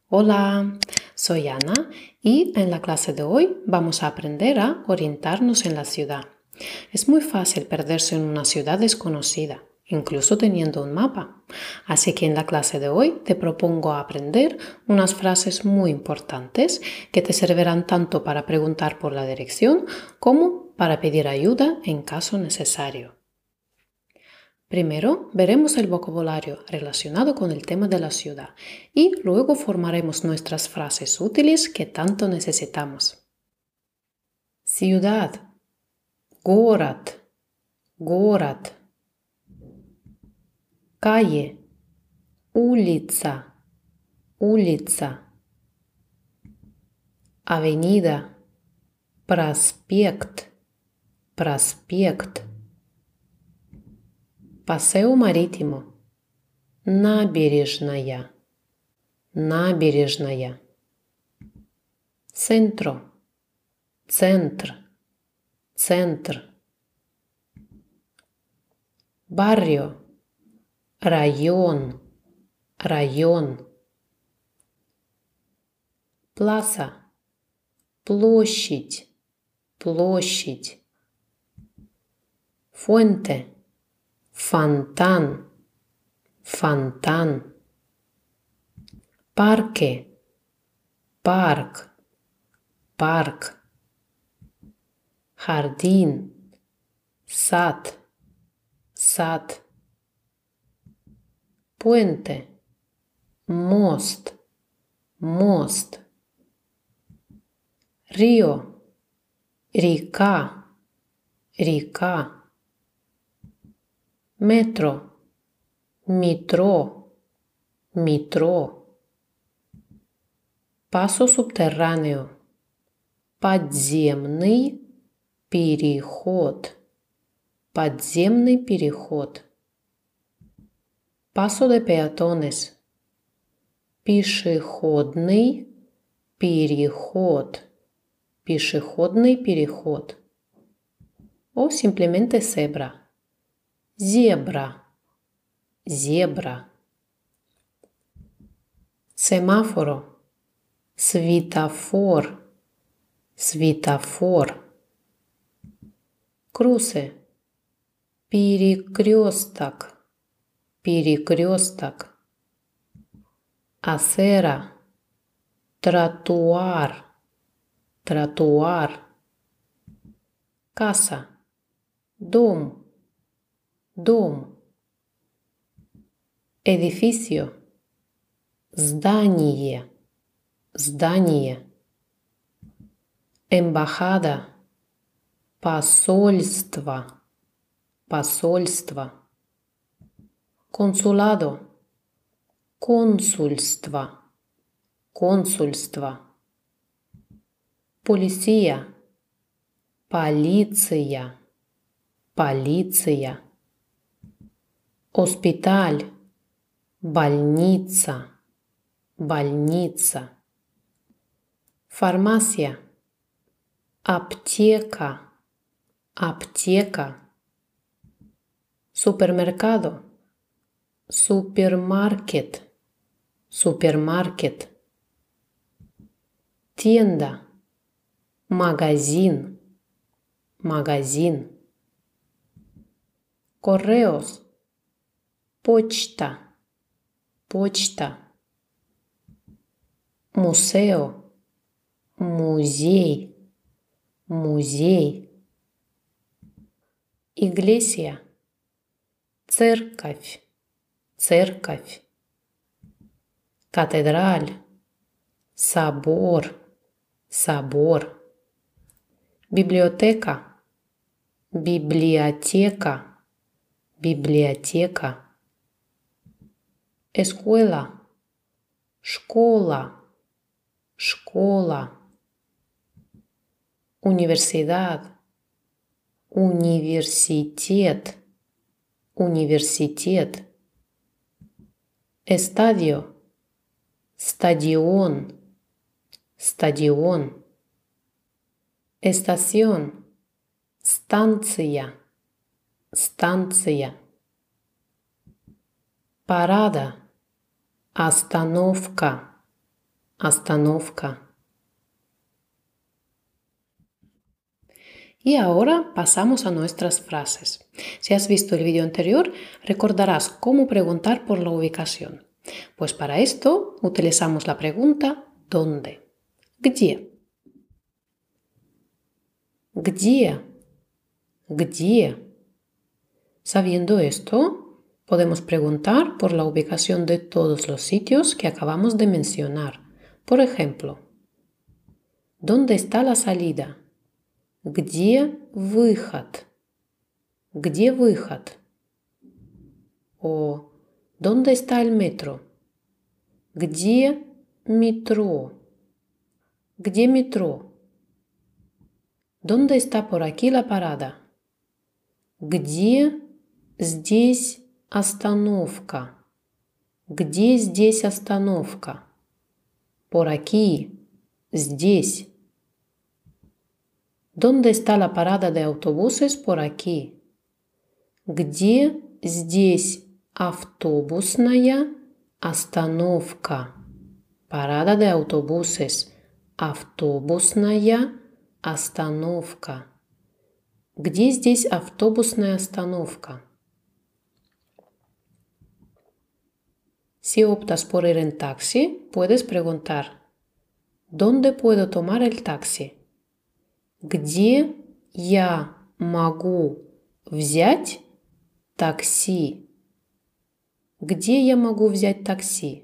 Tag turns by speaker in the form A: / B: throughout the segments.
A: Hola, soy Ana y en la clase de hoy vamos a aprender a orientarnos en la ciudad. Es muy fácil perderse en una ciudad desconocida, incluso teniendo un mapa. Así que en la clase de hoy te propongo aprender unas frases muy importantes que te servirán tanto para preguntar por la dirección como para pedir ayuda en caso necesario. Primero veremos el vocabulario relacionado con el tema de la ciudad y luego formaremos nuestras frases útiles que tanto necesitamos. Ciudad, город, город. Calle, улица, улица. Avenida, проспект, проспект. Paseo marítimo, набережная, набережная. Centro, центр, центр. Barrio, район, район. Plaza, площадь, площадь. Fuente, фонтан, фонтан. Parque, парк, парк. Jardín, сад, сад. Puente, мост, мост. Río, река, река. Metro, метро, метро. Paso subterráneo, подземный переход, подземный переход. Paso de peatones, пешеходный переход, пешеходный переход. O simplemente cebra, zebra, zebra. Semáforo, светофор, светофор. Cruce, перекресток, перекресток. Acera, тротуар, тротуар. Casa, дом, дом. Edificio, здание, здание. Embajada, посольство, посольство. Consulado, консульство, консульство. Policía, полиция, полиция. Hospital, больница, больница. Farmacia, аптека, аптека. Supermercado, супермаркет, супермаркет. Tienda, магазин, магазин. Correos, почта, почта. Museo, музей, музей. Iglesia, церковь, церковь. Catedral, собор, собор. Библиотека, библиотека, библиотека. Escuela, школа, школа. Universidad, университет, университет. Estadio, стадион, стадион. Estación, станция, станция. Parada, остановка, Остановка. Y ahora pasamos a nuestras frases. Si has visto el vídeo anterior, recordarás cómo preguntar por la ubicación. Pues para esto utilizamos la pregunta ¿dónde? Где? Где? Где? Sabiendo esto, podemos preguntar por la ubicación de todos los sitios que acabamos de mencionar. Por ejemplo, ¿dónde está la salida? Где выход? Где выход? O ¿dónde está el metro? Где метро? Где метро? ¿Dónde está por aquí la parada? Где здесь остановка? Где здесь остановка? Por aquí, здесь. ¿Dónde está la parada de autobuses por aquí? Где здесь автобусная остановка? Parada de autobuses. Автобусная остановка. Где здесь автобусная остановка? Si optas por ir en taxi, puedes preguntar ¿dónde puedo tomar el taxi? Где я могу взять такси? Где я могу взять такси?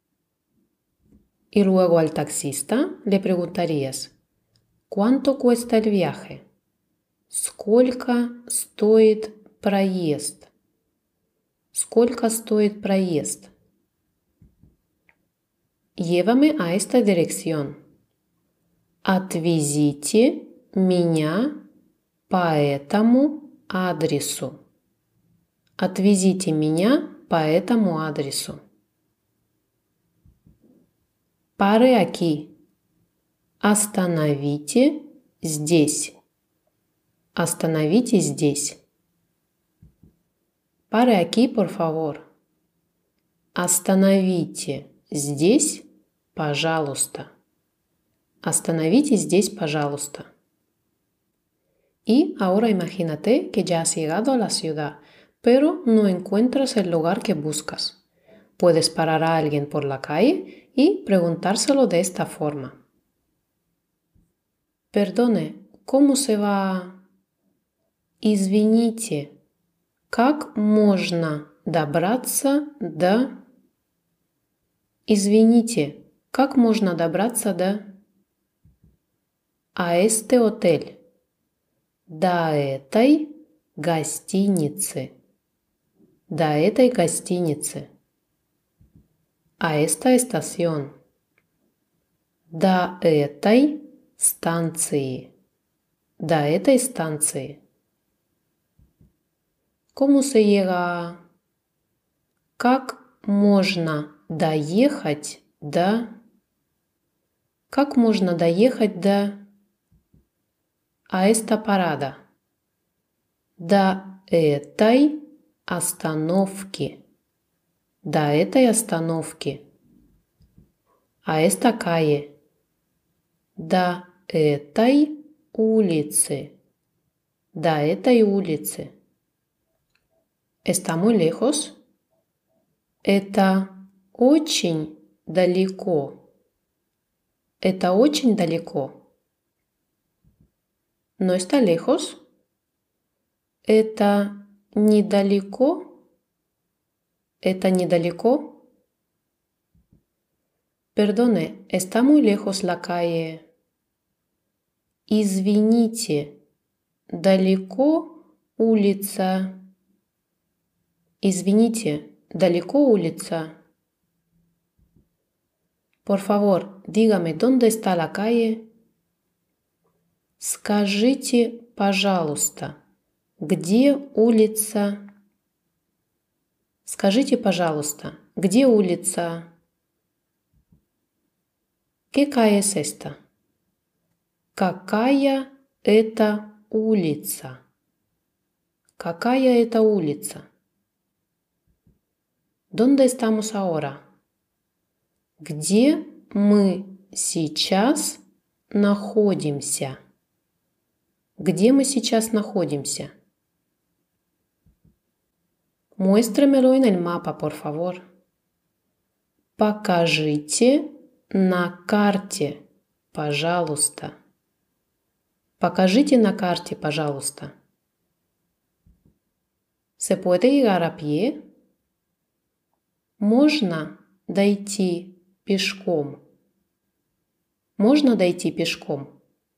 A: Y luego al taxista le preguntarías ¿cuánto cuesta el viaje? Сколько стоит проезд? Сколько стоит проезд? Llévame a esta dirección. Отвезите меня по этому адресу. Отвезите меня по этому адресу. Pare aquí. Остановите здесь. Остановите здесь. Pare aquí, por favor. Остановите здесь, пожалуйста. Остановите здесь, пожалуйста. Y ahora imagínate que ya has llegado a la ciudad, pero no encuentras el lugar que buscas. Puedes parar a alguien por la calle y preguntárselo de esta forma. Perdone, ¿cómo se va? Извините, как можно добраться до... Извините, как можно добраться до... А este hotel. До этой гостиницы. До этой гостиницы. А esta estación. До этой станции. До этой станции. ¿Cómo se llega? Как можно доехать до... Как можно доехать до... А esta parada. До этой остановки. До этой остановки. А esta calle. До этой улицы. До этой улицы. ¿Está muy lejos? Это очень далеко. Это очень далеко. ¿No está lejos? Это недалеко. Это недалеко. Perdone, ¿está muy lejos la calle? Извините, далеко улица. Извините, далеко улица. Por favor, dígame, ¿dónde está la calle? Скажите, пожалуйста, где улица? Скажите, пожалуйста, где улица? ¿Qué calle es esta? Какая это улица? Какая это улица? ¿Dónde estamos ahora? Где мы сейчас находимся? Где мы сейчас находимся? Muéstremelo en el mapa, por favor. Покажите на карте, пожалуйста. Покажите на карте, пожалуйста. ¿Se puede llegar a pie? Можно дойти пешком. Можно дойти пешком.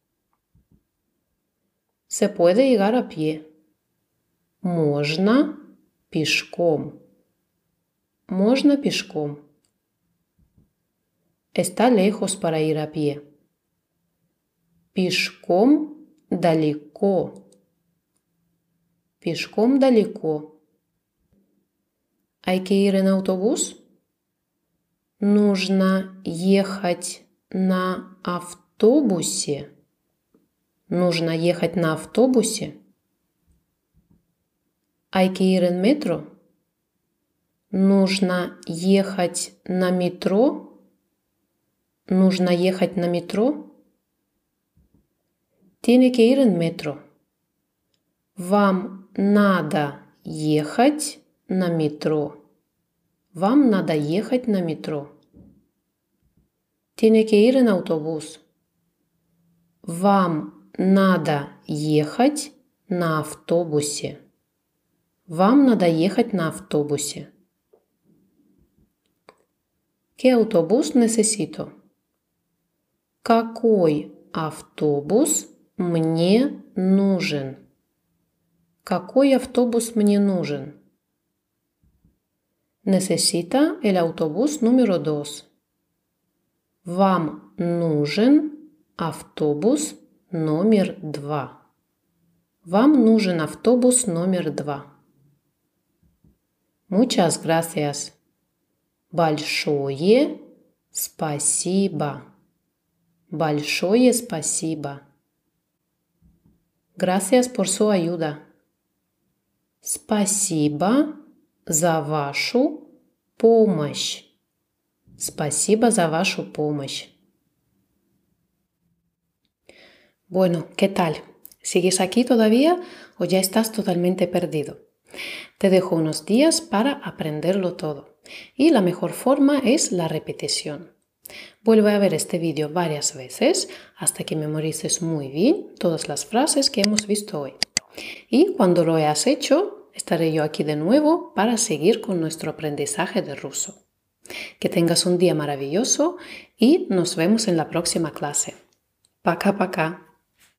A: Se puede llegar a pie. Можно пешком. Можно пешком. Está lejos para ir a pie. Пешком далеко. Пешком далеко. Hay que ir en autobús? Нужно ехать на автобусе. Нужно ехать на автобусе. Hay que ir en metro? Нужно ехать на метро. Нужно ехать на метро. Tiene que ir en metro. Вам надо ехать на метро. Вам надо ехать на метро. Tiene que ir en autobús. Вам надо ехать на автобусе. Вам надо ехать на автобусе. ¿Qué autobús necesito? Какой автобус мне нужен? Какой автобус мне нужен? Necesita el autobús número 2. Вам нужен автобус номер 2. Вам нужен автобус номер 2. Muchas gracias. Большое спасибо. Большое спасибо. Gracias por su ayuda. Спасибо за вашу помощь. Спасибо за вашу помощь. Bueno, ¿qué tal? ¿Sigues aquí todavía o ya estás totalmente perdido? Te dejo unos días para aprenderlo todo y la mejor forma es la repetición. Vuelve a ver este vídeo varias veces hasta que memorices muy bien todas las frases que hemos visto hoy. Y cuando lo hayas hecho, estaré yo aquí de nuevo para seguir con nuestro aprendizaje de ruso. Que tengas un día maravilloso y nos vemos en la próxima clase. Пока-пока.